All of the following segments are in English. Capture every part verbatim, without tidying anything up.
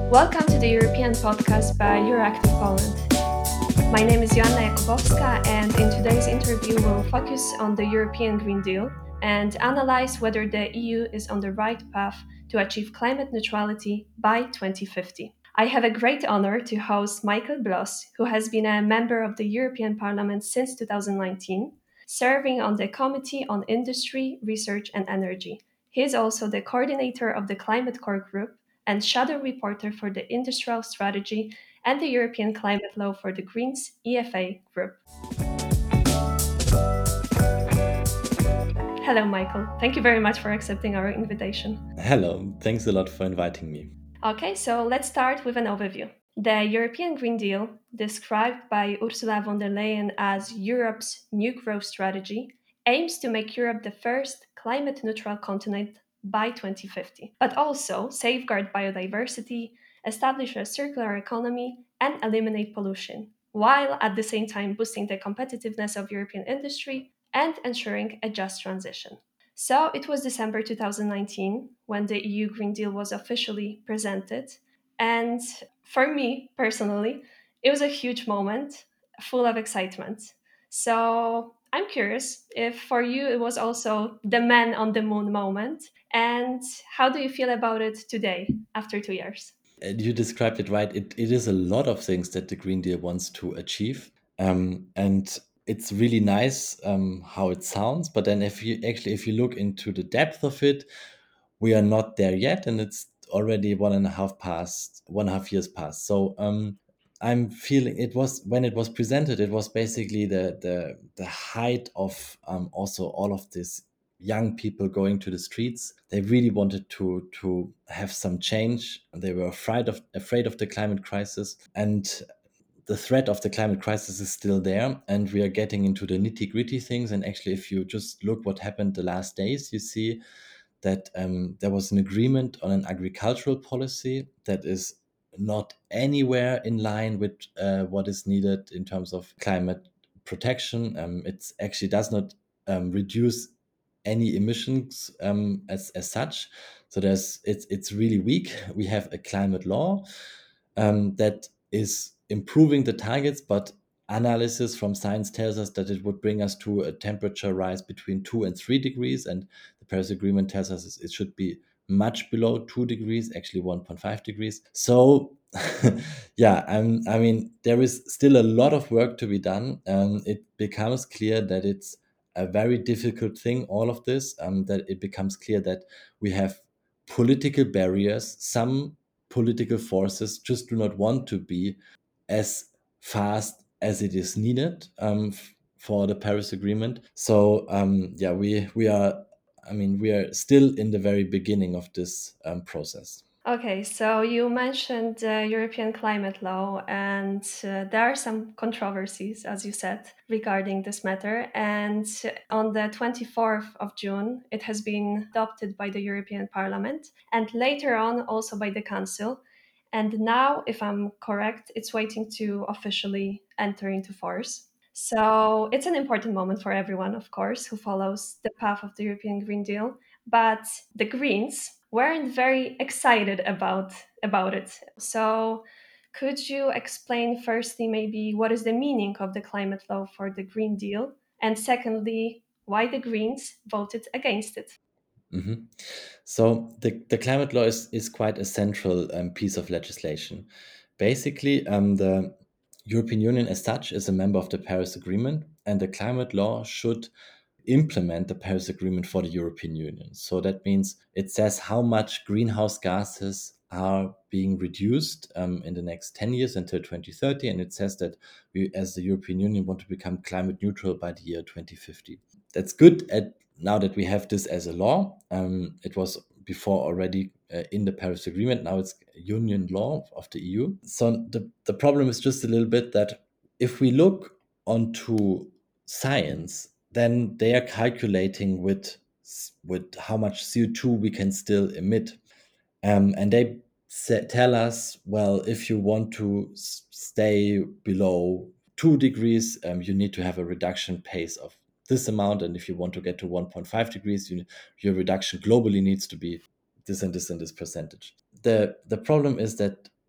Welcome to the European podcast by Euractiv Poland. My name is Joanna Jakubowska, and in today's interview, we'll focus on the European Green Deal and analyze whether the E U is on the right path to achieve climate neutrality by twenty fifty. I have a great honor to host Michael Bloss, who has been a member of the European Parliament since two thousand nineteen, serving on the Committee on Industry, Research and Energy. He is also the coordinator of the Climate Core Group and shadow reporter for the Industrial Strategy and the European Climate Law for the Greens E F A Group. Hello, Michael. Thank you very much for accepting our invitation. Hello, thanks a lot for inviting me. Okay, so let's start with an overview. The European Green Deal, described by Ursula von der Leyen as Europe's new growth strategy, aims to make Europe the first climate neutral continent by twenty fifty, but also safeguard biodiversity, establish a circular economy, and eliminate pollution, while at the same time boosting the competitiveness of European industry and ensuring a just transition. So it was December two thousand nineteen when the E U Green Deal was officially presented. And for me personally, it was a huge moment full of excitement. So I'm curious if for you it was also the man on the moon moment. And how do you feel about it today after two years? Uh, You described it right. It, it is a lot of things that the Green Deal wants to achieve. Um, and it's really nice um, how it sounds. But then if you actually, if you look into the depth of it, we are not there yet. And it's already one and a half past, one and a half years past. So um, I'm feeling it was when it was presented, it was basically the the the height of um, also all of this young people going to the streets. They really wanted to to have some change. They were afraid of afraid of the climate crisis, and the threat of the climate crisis is still there. And we are getting into the nitty gritty things. And actually, if you just look what happened the last days, you see that um, there was an agreement on an agricultural policy that is not anywhere in line with uh, what is needed in terms of climate protection. Um, it actually does not um, reduce any emissions um, as as such. So there's it's it's really weak. We have a climate law um, that is improving the targets, but analysis from science tells us that it would bring us to a temperature rise between two and three degrees, and the Paris Agreement tells us it should be much below two degrees, actually one point five degrees. So, yeah, I'm, I mean, there is still a lot of work to be done. Um, it becomes clear that it's a very difficult thing, all of this, um, that it becomes clear that we have political barriers. Some political forces just do not want to be as fast as it is needed um, f- for the Paris Agreement. So um, yeah, we we are. I mean, we are still in the very beginning of this um, process. Okay, so you mentioned the European climate law, and uh, there are some controversies, as you said, regarding this matter. And on the twenty-fourth of June, it has been adopted by the European Parliament and later on also by the Council. And now, if I'm correct, it's waiting to officially enter into force. So it's an important moment for everyone, of course, who follows the path of the European Green Deal. But the Greens weren't very excited about about it. So could you explain firstly maybe what is the meaning of the climate law for the Green Deal? And secondly, why the Greens voted against it? Mhm. So the, the climate law is, is quite a central um, piece of legislation. Basically, um, the European Union as such is a member of the Paris Agreement, and the climate law should implement the Paris Agreement for the European Union. So that means it says how much greenhouse gases are being reduced um, in the next ten years until twenty thirty. And it says that we, as the European Union, want to become climate neutral by the year twenty fifty. That's good at, now that we have this as a law. Um, it was before already uh, in the Paris Agreement. Now it's union law of the E U. So the, the problem is just a little bit that if we look onto science, then they are calculating with with how much C O two we can still emit, um, and they sa- tell us, well, if you want to s- stay below two degrees, um, you need to have a reduction pace of this amount, and if you want to get to one point five degrees, you, your reduction globally needs to be this and this and this percentage. The the problem is that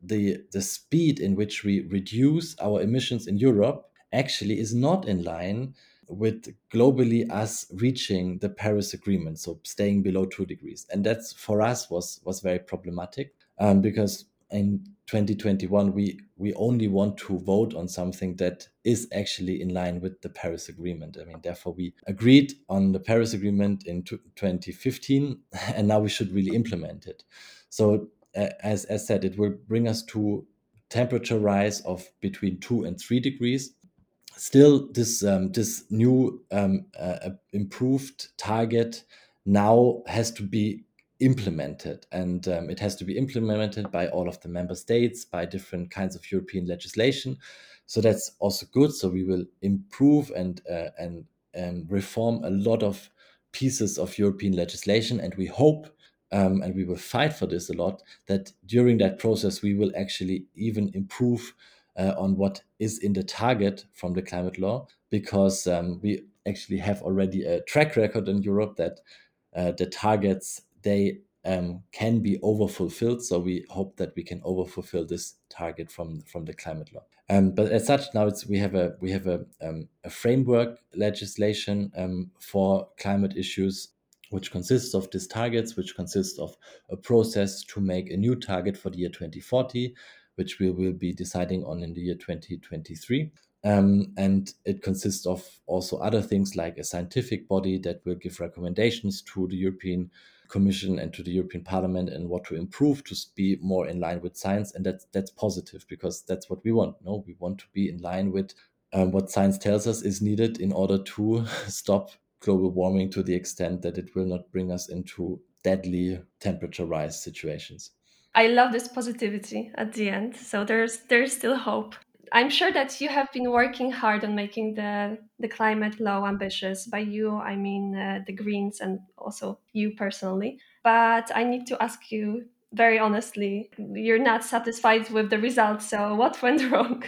the the speed in which we reduce our emissions in Europe actually is not in line with globally us reaching the Paris Agreement, so staying below two degrees. And that's for us was was very problematic, um, because in twenty twenty-one we we only want to vote on something that is actually in line with the Paris Agreement. I mean, therefore we agreed on the Paris Agreement in twenty fifteen, and now we should really implement it. So uh, as as said, it will bring us to temperature rise of between two and three degrees. Still, this um, this new um, uh, improved target now has to be implemented, and um, it has to be implemented by all of the member states, by different kinds of European legislation. So that's also good. So we will improve and uh, and and reform a lot of pieces of European legislation, and we hope, um, and we will fight for this a lot, that during that process we will actually even improve uh, on what is in the target from the climate law, because um, we actually have already a track record in Europe that uh, the targets, they um, can be overfulfilled. So we hope that we can overfulfill this target from from the climate law. Um, but as such, now it's we have a we have a um, a framework legislation um, for climate issues, which consists of these targets, which consists of a process to make a new target for the year twenty forty, which we will be deciding on in the year twenty twenty-three. Um, and it consists of also other things like a scientific body that will give recommendations to the European Commission and to the European Parliament and what to improve to be more in line with science. And that's that's positive, because that's what we want. No, we want to be in line with um, what science tells us is needed in order to stop global warming to the extent that it will not bring us into deadly temperature rise situations. I love this positivity at the end. So there's there's still hope. I'm sure that you have been working hard on making the the climate law ambitious. By you, I mean uh, the Greens and also you personally. But I need to ask you very honestly, you're not satisfied with the results. So what went wrong?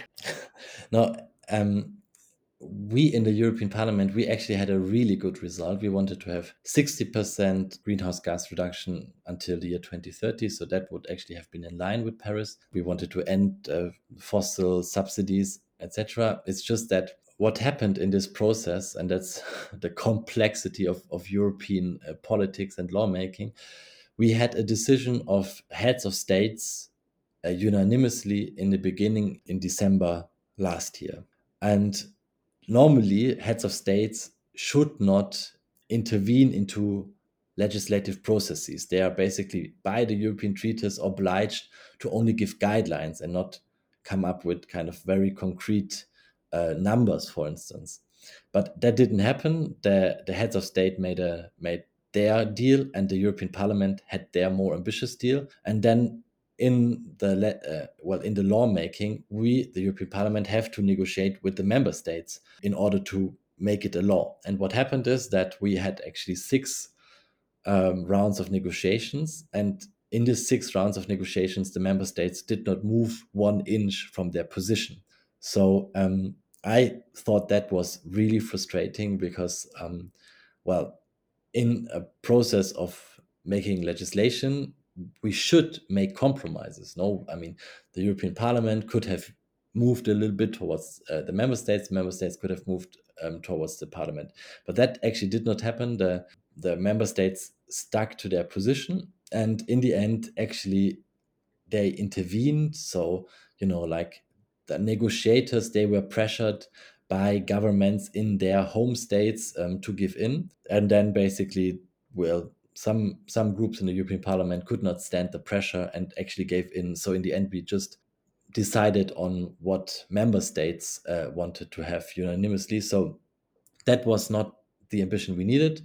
No, um, we in the European Parliament, we actually had a really good result. We wanted to have sixty percent greenhouse gas reduction until the year twenty thirty. So that would actually have been in line with Paris. We wanted to end uh, fossil subsidies, et cetera. It's just that what happened in this process, and that's the complexity of, of European uh, politics and lawmaking, we had a decision of heads of states uh, unanimously in the beginning in December last year. And normally heads of states should not intervene into legislative processes. They are basically, by the European treaties, obliged to only give guidelines and not come up with kind of very concrete uh, numbers, for instance. But that didn't happen. The, the heads of state made a made their deal, and the European Parliament had their more ambitious deal. And then in the uh, well in the lawmaking, we, the European Parliament, have to negotiate with the member states in order to make it a law. And what happened is that we had actually six um, rounds of negotiations, and in these six rounds of negotiations, the member states did not move one inch from their position. So um, I thought that was really frustrating, because um, well, in a process of making legislation, we should make compromises. No, I mean, the European Parliament could have moved a little bit towards uh, the member states. Member states could have moved um, towards the Parliament, but that actually did not happen. The the member states stuck to their position, and in the end, actually, they intervened. So you know, like the negotiators, they were pressured by governments in their home states um, to give in, and then basically, well, some some groups in the European Parliament could not stand the pressure and actually gave in. So in the end, we just decided on what member states uh, wanted to have unanimously. So that was not the ambition we needed.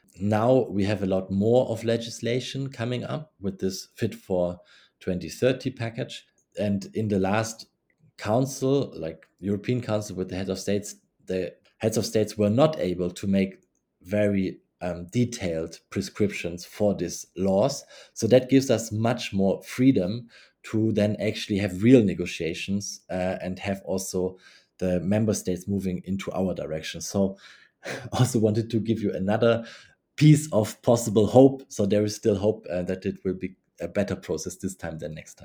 Now we have a lot more of legislation coming up with this Fit for twenty thirty package. And in the last council, like European Council with the heads of states, the heads of states were not able to make very um, detailed prescriptions for these laws. So that gives us much more freedom to then actually have real negotiations uh, and have also the member states moving into our direction. So also wanted to give you another piece of possible hope. So there is still hope uh, that it will be a better process this time than next time.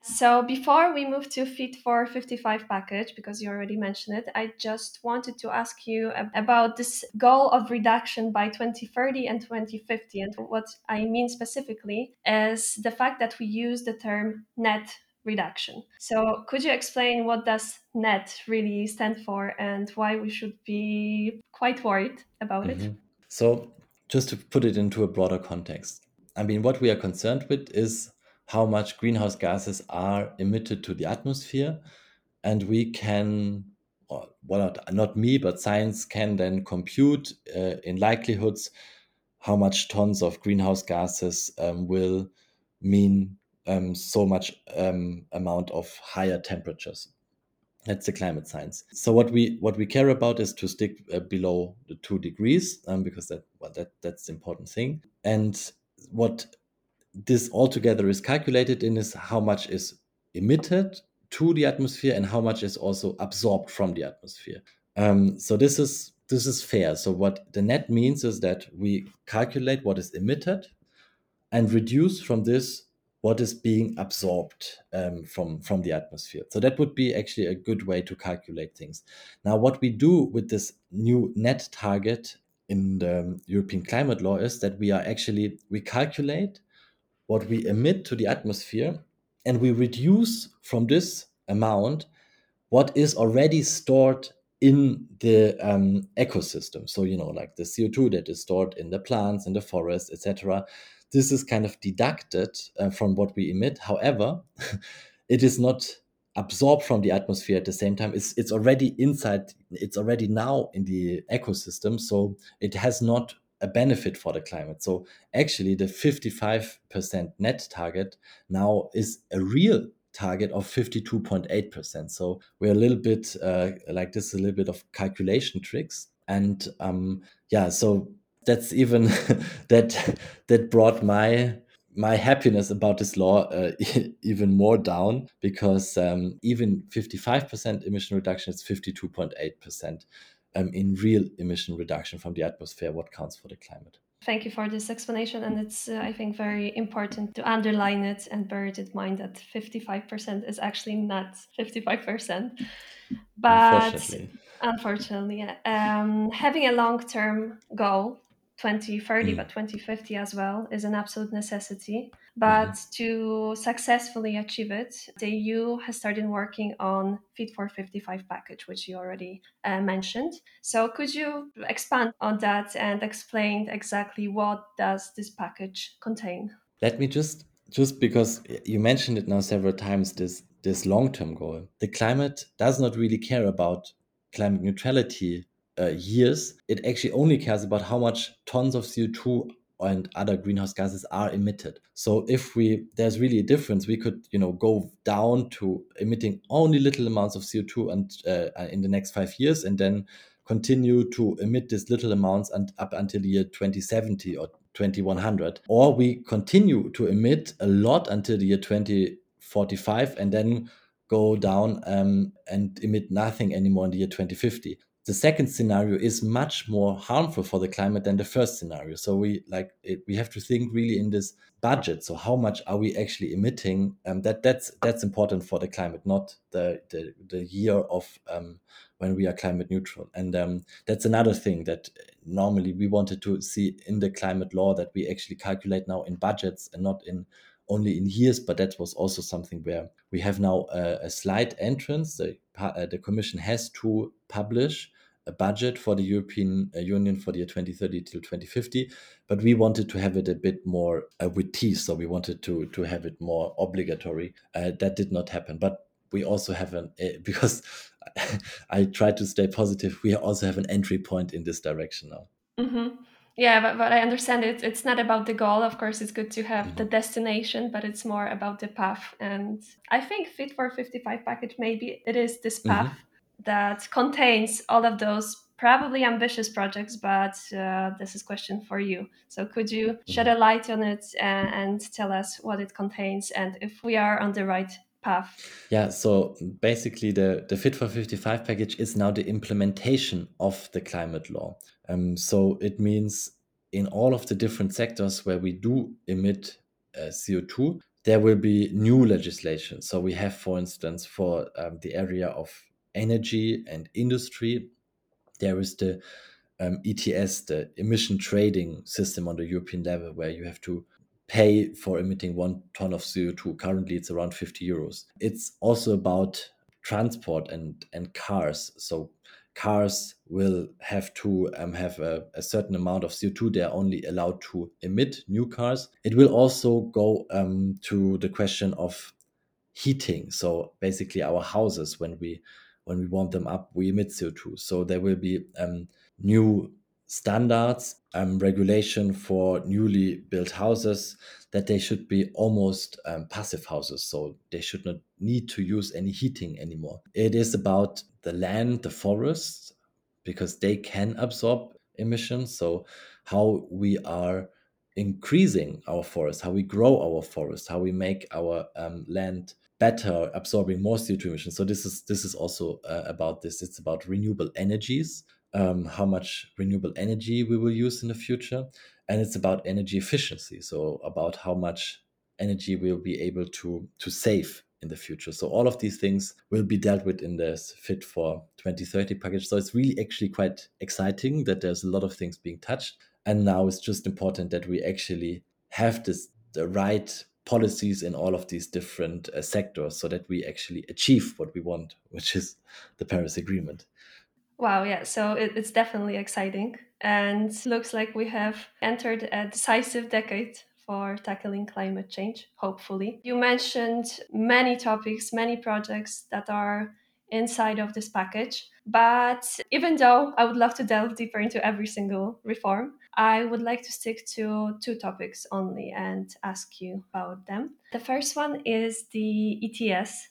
So before we move to Fit for fifty-five package, because you already mentioned it, I just wanted to ask you about this goal of reduction by twenty thirty and twenty fifty. And what I mean specifically is the fact that we use the term net reduction. So could you explain what does net really stand for and why we should be quite worried about it? Mhm. So just to put it into a broader context, I mean, what we are concerned with is how much greenhouse gases are emitted to the atmosphere, and we can, or well, not, not me, but science can then compute uh, in likelihoods how much tons of greenhouse gases um, will mean um, so much um, amount of higher temperatures. That's the climate science. So what we what we care about is to stick uh, below the two degrees, um, because that well, that that's the important thing. And what this altogether is calculated in is how much is emitted to the atmosphere and how much is also absorbed from the atmosphere. Um, so this is this is fair. So what the net means is that we calculate what is emitted and reduce from this what is being absorbed um, from from the atmosphere. So that would be actually a good way to calculate things. Now, what we do with this new net target in the European climate law is that we are actually we calculate what we emit to the atmosphere, and we reduce from this amount what is already stored in the um, ecosystem. So, you know, like the C O two that is stored in the plants, in the forest, et cetera. This is kind of deducted uh, from what we emit. However, it is not absorbed from the atmosphere at the same time. It's it's already inside. It's already now in the ecosystem. So it has not a benefit for the climate. So actually, the fifty-five percent net target now is a real target of fifty-two point eight percent. So we're a little bit uh, like this, a little bit of calculation tricks. And um, yeah, so that's even that that brought my my happiness about this law uh, even more down, because um, even fifty-five percent emission reduction is fifty-two point eight percent um, in real emission reduction from the atmosphere, what counts for the climate. Thank you for this explanation. And it's, uh, I think, very important to underline it and bear it in mind that fifty-five percent is actually not fifty-five percent. But Unfortunately. unfortunately, yeah. um, having a long term goal, twenty thirty, Mm. but twenty fifty as well, is an absolute necessity. But Mhm. to successfully achieve it, the E U has started working on Fit for fifty-five package, which you already uh, mentioned. So could you expand on that and explain exactly what does this package contain? Let me just just because you mentioned it now several times, this this long-term goal. The climate does not really care about climate neutrality uh, years. It actually only cares about how much tons of C O two and other greenhouse gases are emitted. So if we there's really a difference, we could you know go down to emitting only little amounts of C O two and uh, in the next five years, and then continue to emit these little amounts and up until the year twenty seventy or twenty-one hundred, or we continue to emit a lot until the year twenty forty-five and then go down um, and emit nothing anymore in the year twenty fifty. The second scenario is much more harmful for the climate than the first scenario. So we like it, we have to think really in this budget. So how much are we actually emitting? Um, that that's that's important for the climate, not the the, the year of um, when we are climate neutral. And um, that's another thing that normally we wanted to see in the climate law, that we actually calculate now in budgets and not in only in years. But that was also something where we have now a, a slight entrance. The, uh, the Commission has to publish a budget for the European uh, Union for the year twenty thirty till twenty fifty, but we wanted to have it a bit more uh, with teeth. So we wanted to to have it more obligatory. Uh, that did not happen, but we also have an uh, because I try to stay positive. We also have an entry point in this direction now. Mm-hmm. Yeah, but, but I understand it. It's not about the goal. Of course, it's good to have the Mhm. destination, but it's more about the path. And I think Fit for fifty-five package, maybe it is this path Mhm. that contains all of those probably ambitious projects, but uh, this is question for you. So could you shed a Mhm. light on it and, and tell us what it contains and if we are on the right path? Yeah, so basically, the, the Fit for fifty-five package is now the implementation of the climate law. Um, so it means in all of the different sectors where we do emit uh, C O two, there will be new legislation. So we have, for instance, for um, the area of energy and industry, there is the um, E T S, the emission trading system on the European level, where you have to pay for emitting one ton of C O two. Currently, it's around fifty euros. It's also about transport and, and cars. So cars will have to um, have a, a certain amount of C O two they are only allowed to emit, new cars. It will also go um, to the question of heating. So basically our houses, when we when we warm them up, we emit C O two. So there will be um, new standards, um, regulation for newly built houses, that they should be almost um, passive houses. So they should not need to use any heating anymore. It is about the land, the forests, because they can absorb emissions. So how we are increasing our forest, how we grow our forest, how we make our um, land better, absorbing more C O two emissions. So this is this is also uh, about this. It's about renewable energies, um, how much renewable energy we will use in the future, and it's about energy efficiency. So about how much energy we'll be able to to save in the future. So all of these things will be dealt with in this Fit for twenty thirty package. So it's really actually quite exciting that there's a lot of things being touched. And now it's just important that we actually have this the right policies in all of these different uh, sectors, so that we actually achieve what we want, which is the Paris Agreement. Wow, yeah, so it, it's definitely exciting. And looks like we have entered a decisive decade for tackling climate change, hopefully. You mentioned many topics, many projects that are inside of this package. But even though I would love to delve deeper into every single reform, I would like to stick to two topics only and ask you about them. The first one is the E T S,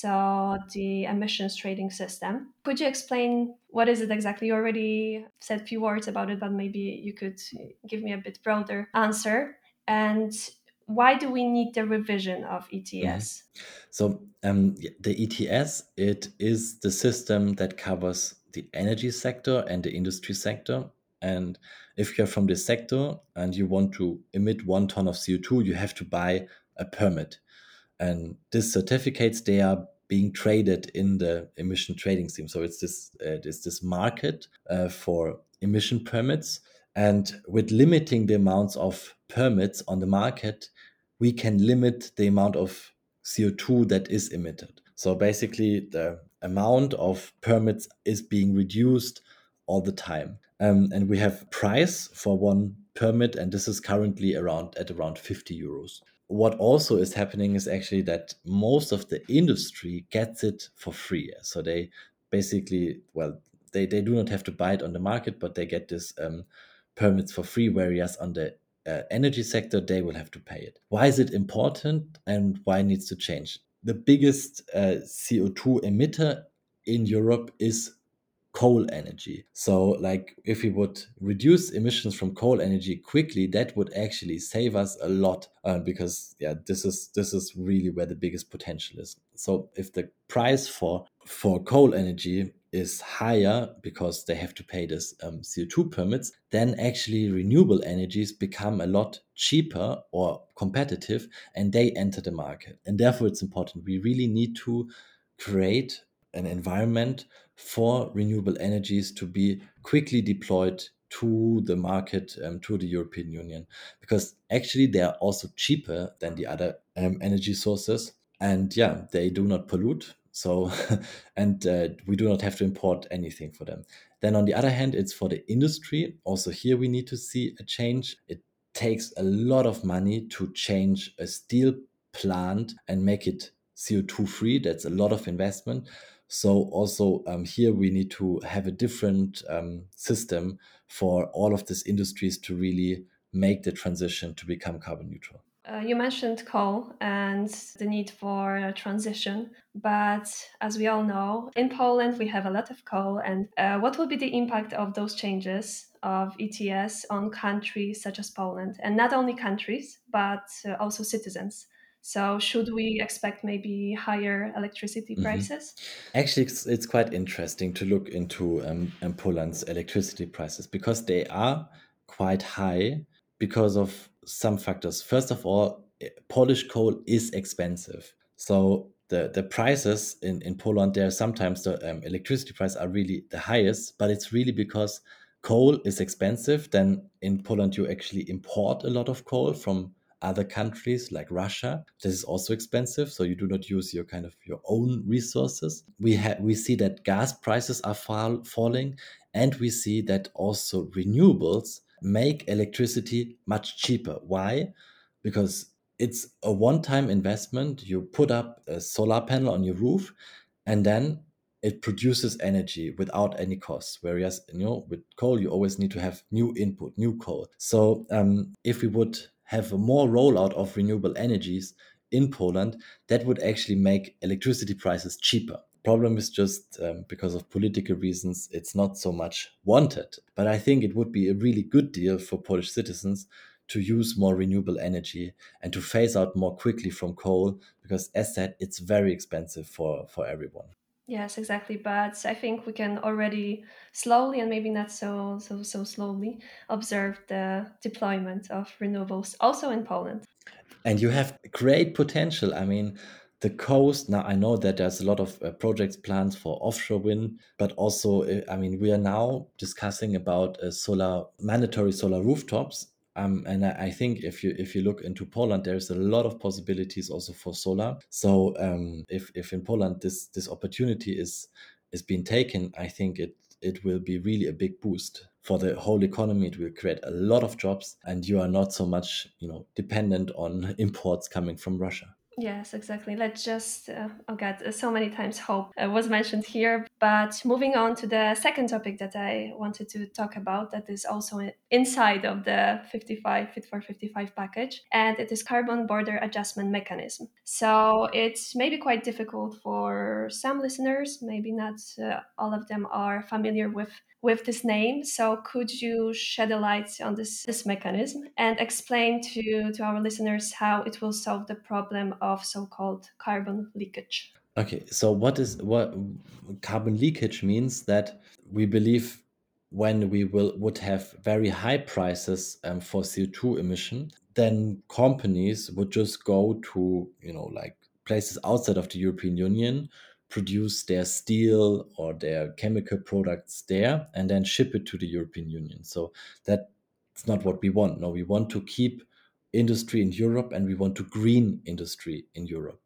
so the emissions trading system. Could you explain what is it exactly? You already said a few words about it, but maybe you could give me a bit broader answer. And why do we need the revision of E T S? Mm-hmm. So um, the E T S, it is the system that covers the energy sector and the industry sector. And if you're from this sector and you want to emit one ton of C O two, you have to buy a permit. And these certificates, they are being traded in the emission trading scheme. So it's this uh, it's this market uh, for emission permits. And with limiting the amounts of permits on the market, we can limit the amount of C O two that is emitted. So basically, the amount of permits is being reduced all the time. Um, and we have price for one permit, and this is currently around at around fifty euros. What also is happening is actually that most of the industry gets it for free. So they basically, well, they, they do not have to buy it on the market, but they get this um, permits for free, whereas on the uh, energy sector, they will have to pay it. Why is it important and why it needs to change? The biggest uh, C O two emitter in Europe is coal energy. So like if we would reduce emissions from coal energy quickly, that would actually save us a lot, uh, because yeah, this is this is really where the biggest potential is. So if the price for for coal energy is higher because they have to pay this um, C O two permits, then actually renewable energies become a lot cheaper or competitive, and they enter the market. And therefore it's important. We really need to create an environment for renewable energies to be quickly deployed to the market, um, to the European Union, because actually they are also cheaper than the other um, energy sources. And yeah, they do not pollute. So, and uh, we do not have to import anything for them. Then on the other hand, it's for the industry. Also here we need to see a change. It takes a lot of money to change a steel plant and make it C O two free. That's a lot of investment. So also um, here we need to have a different um, system for all of these industries to really make the transition to become carbon neutral. Uh, you mentioned coal and the need for a transition, but as we all know, in Poland we have a lot of coal. And uh, what will be the impact of those changes of E T S on countries such as Poland? And not only countries, but uh, also citizens. So, should we expect maybe higher electricity Mhm. prices? Actually, it's, it's quite interesting to look into um, um, Poland's electricity prices, because they are quite high because of some factors. First of all, Polish coal is expensive. So the, the prices in, in Poland, there sometimes the um, electricity prices are really the highest, but it's really because coal is expensive. Then in Poland, you actually import a lot of coal from other countries like Russia. This is also expensive, so you do not use your kind of your own resources. We have we see that gas prices are fall, falling, and we see that also renewables make electricity much cheaper. Why? Because it's a one-time investment. You put up a solar panel on your roof, and then it produces energy without any cost. Whereas, you know, with coal, you always need to have new input, new coal. So um, if we would have a more rollout of renewable energies in Poland, that would actually make electricity prices cheaper. Problem is just um, because of political reasons, it's not so much wanted. But I think it would be a really good deal for Polish citizens to use more renewable energy and to phase out more quickly from coal, because as said, it's very expensive for, for everyone. Yes, exactly. But I think we can already slowly and maybe not so so so slowly observe the deployment of renewables also in Poland. And you have great potential. I mean, the coast now, I know that there's a lot of uh, projects plans for offshore wind, but also uh, I mean, we are now discussing about uh, solar mandatory solar rooftops. Um, and I, I think if you if you look into Poland, there's a lot of possibilities also for solar. So um, if if in Poland this this opportunity is is being taken, I think it it will be really a big boost for the whole economy. It will create a lot of jobs, and you are not so much, you know, dependent on imports coming from Russia. Yes, exactly. Let's just, uh, oh God, uh, so many times hope uh, was mentioned here. But moving on to the second topic that I wanted to talk about, that is also i- inside of the fifty-five Fit for fifty-five package, and it is carbon border adjustment mechanism. So it's maybe quite difficult for some listeners, maybe not uh, all of them are familiar with with this name. So could you shed a light on this, this mechanism and explain to, to our listeners how it will solve the problem of so-called carbon leakage? Okay, so what is what carbon leakage means that we believe when we will would have very high prices um, for C O two emission, then companies would just go to, you know, like places outside of the European Union, produce their steel or their chemical products there, and then ship it to the European Union. So that's not what we want. No, we want to keep industry in Europe, and we want to green industry in Europe.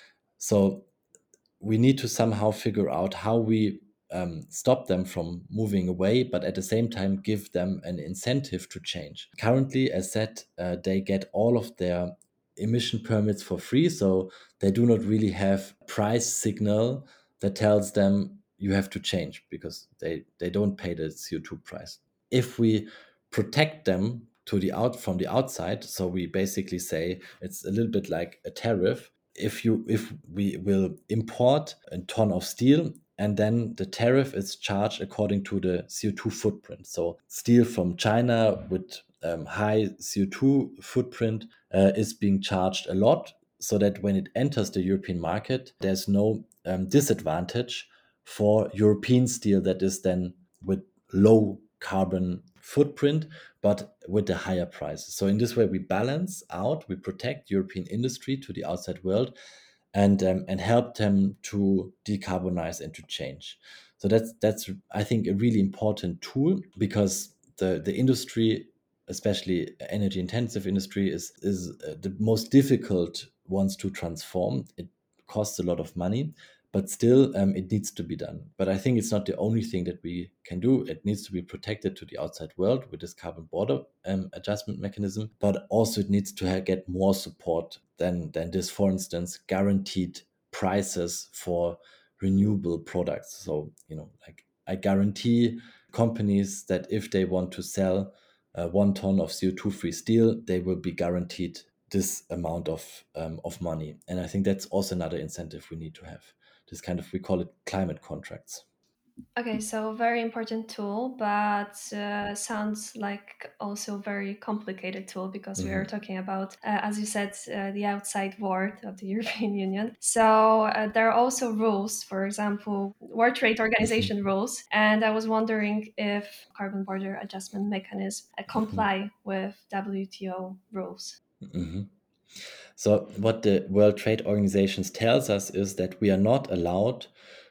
So we need to somehow figure out how we um, stop them from moving away, but at the same time give them an incentive to change. Currently, as said, uh, they get all of their emission permits for free, so they do not really have price signal that tells them you have to change, because they, they don't pay the C O two price. If we protect them to the out from the outside, so we basically say it's a little bit like a tariff. If you if we will import a ton of steel, and then the tariff is charged according to the C O two footprint. So steel from China with um, high C O two footprint uh, is being charged a lot, so that when it enters the European market, there's no um, disadvantage for European steel that is then with low carbon footprint, but with the higher prices. So in this way, we balance out, we protect European industry to the outside world, and um, and help them to decarbonize and to change. So that's that's I think a really important tool, because the the industry, especially energy intensive industry, is is uh, the most difficult ones to transform. It costs a lot of money, but still um, it needs to be done. But I think it's not the only thing that we can do. It needs to be protected to the outside world with this carbon border um, adjustment mechanism, but also it needs to ha- get more support than than this. For instance, guaranteed prices for renewable products. So, you know, like I guarantee companies that if they want to sell uh, one ton of C O two free steel, they will be guaranteed this amount of um, of money. And I think that's also another incentive we need to have. This kind of, we call it climate contracts. Okay, so very important tool, but uh, sounds like also very complicated tool because we are Mhm. talking about, uh, as you said, uh, the outside world of the European Union. So uh, there are also rules, for example, World Trade Mhm. Organization rules, and I was wondering if carbon border adjustment mechanism uh, Mhm. comply with W T O rules. Mhm. So what the World Trade Organization tells us is that we are not allowed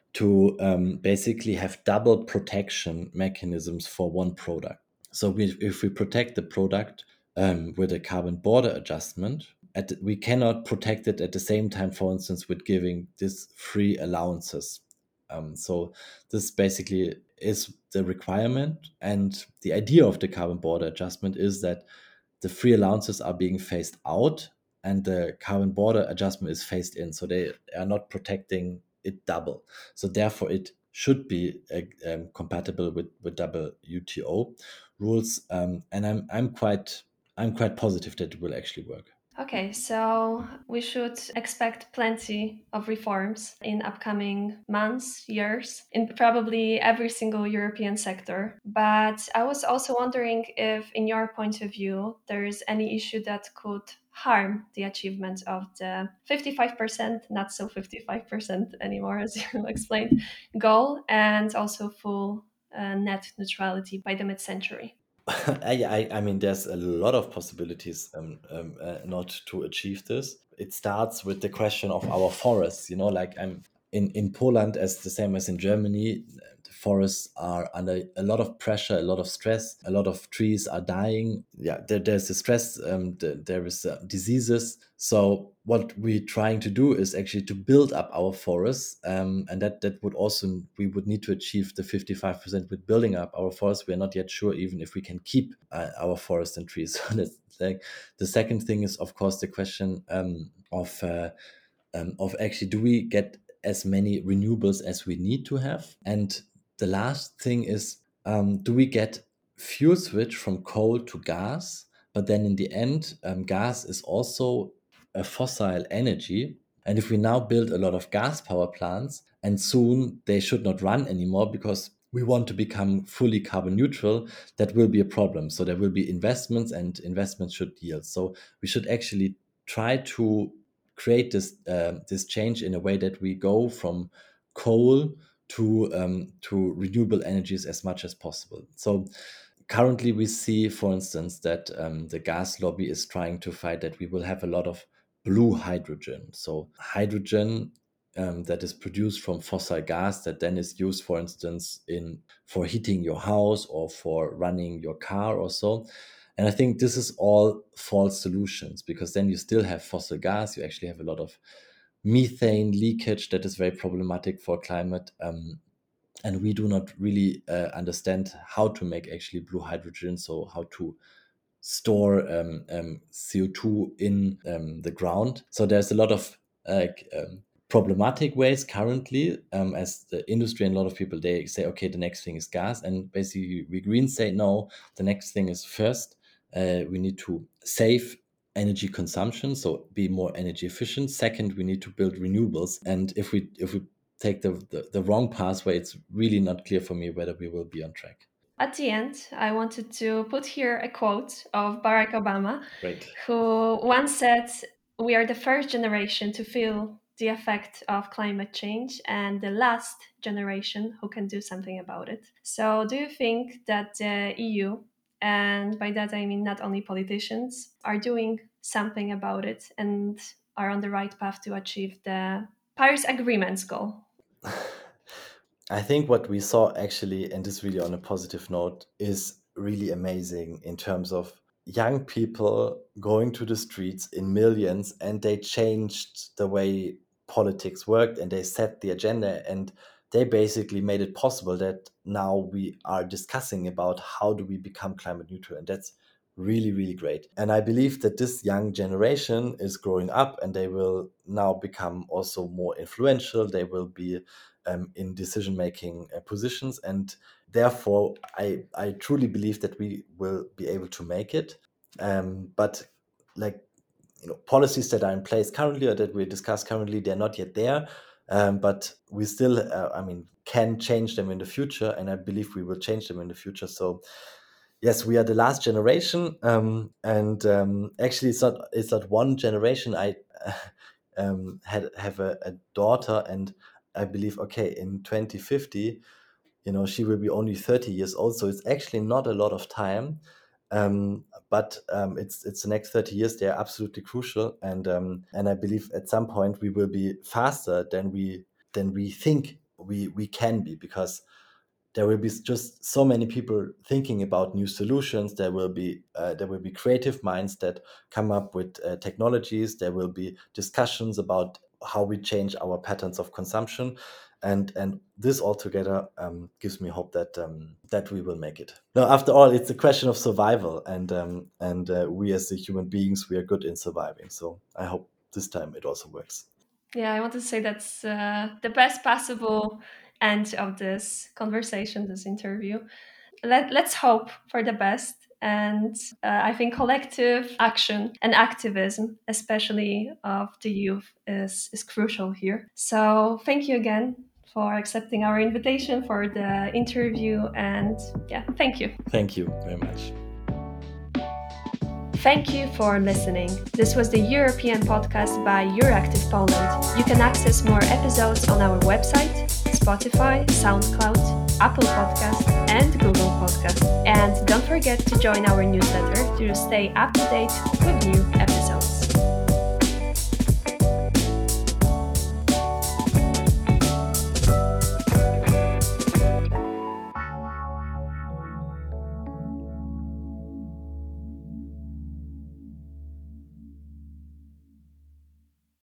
to um, basically have double protection mechanisms for one product. So we, if we protect the product um, with a carbon border adjustment, at the, we cannot protect it at the same time, for instance, with giving this free allowances. Um, so this basically is the requirement, and the idea of the carbon border adjustment is that the free allowances are being phased out and the carbon border adjustment is phased in. So they are not protecting it double. So therefore, it should be uh, um, compatible with, with W T O rules. Um, and I'm I'm quite I'm quite positive that it will actually work. Okay, so we should expect plenty of reforms in upcoming months, years, in probably every single European sector. But I was also wondering if, in your point of view, there is any issue that could harm the achievement of the fifty-five percent, not so fifty-five percent anymore, as you explained, goal, and also full uh, net neutrality by the mid-century. I, I, I mean, there's a lot of possibilities um, um, uh, not to achieve this. It starts with the question of our forests. You know, like I'm in, in Poland, as the same as in Germany, the forests are under a lot of pressure, a lot of stress. A lot of trees are dying. Yeah, there, there's the stress. Um, the, there is uh, diseases. So what we're trying to do is actually to build up our forests, um, and that that would also we would need to achieve the fifty-five percent with building up our forests. We are not yet sure even if we can keep uh, our forests and trees. So that's like the second thing is of course the question um, of uh, um, of actually do we get as many renewables as we need to have, and the last thing is um, do we get fuel switch from coal to gas, but then in the end um, gas is also a fossil energy. And if we now build a lot of gas power plants and soon they should not run anymore because we want to become fully carbon neutral, that will be a problem. So there will be investments and investments should yield. So we should actually try to create this uh, this change in a way that we go from coal to um, to renewable energies as much as possible. So currently we see, for instance, that um, the gas lobby is trying to fight that we will have a lot of blue hydrogen. So hydrogen um, that is produced from fossil gas that then is used, for instance, in for heating your house or for running your car or so. And I think this is all false solutions because then you still have fossil gas. You actually have a lot of methane leakage that is very problematic for climate. Um, and we do not really uh, understand how to make actually blue hydrogen, so how to store um, um, C O two in um, the ground. So there's a lot of uh, um, problematic ways currently um, as the industry and a lot of people, they say, okay, the next thing is gas. And basically we Greens say, no, the next thing is first, uh, we need to save energy consumption, so be more energy efficient. Second, we need to build renewables. And if we if we take the, the, the wrong pathway, it's really not clear for me whether we will be on track. At the end, I wanted to put here a quote of Barack Obama, Great. who once said, "We are the first generation to feel the effect of climate change and the last generation who can do something about it." So, do you think that the E U, and by that I mean not only politicians, are doing something about it and are on the right path to achieve the Paris Agreement's goal? I think what we saw actually, and this really on a positive note, is really amazing in terms of young people going to the streets in millions and they changed the way politics worked and they set the agenda and they basically made it possible that now we are discussing about how do we become climate neutral, and that's really really great. And I believe that this young generation is growing up and they will now become also more influential. They will be um, in decision making uh, positions, and therefore I, I truly believe that we will be able to make it. Um, but like you know, policies that are in place currently or that we discuss currently, they're not yet there. Um, but we still, uh, I mean, can change them in the future, and I believe we will change them in the future. So yes, we are the last generation, um, and um, actually, it's not it's not one generation. I um, had have a, a daughter, and I believe okay, in twenty fifty, you know, she will be only thirty years old, so it's actually not a lot of time. Um, but um, it's it's the next thirty years. They are absolutely crucial, and um, and I believe at some point we will be faster than we than we think we we can be, because there will be just so many people thinking about new solutions. There will be uh, there will be creative minds that come up with uh, technologies. There will be discussions about how we change our patterns of consumption, and and this all together um, gives me hope that um, that we will make it. Now, after all, it's a question of survival, and um, and uh, we as the human beings, we are good in surviving. So I hope this time it also works. Yeah, I want to say that's uh, the best possible end of this conversation, this interview. Let, let's hope for the best. And uh, I think collective action and activism, especially of the youth, is, is crucial here. So thank you again for accepting our invitation for the interview. And yeah, thank you. Thank you very much. Thank you for listening. This was the European podcast by Euractiv Poland. You can access more episodes on our website, Spotify, SoundCloud, Apple Podcast, and Google Podcast. And don't forget to join our newsletter to stay up to date with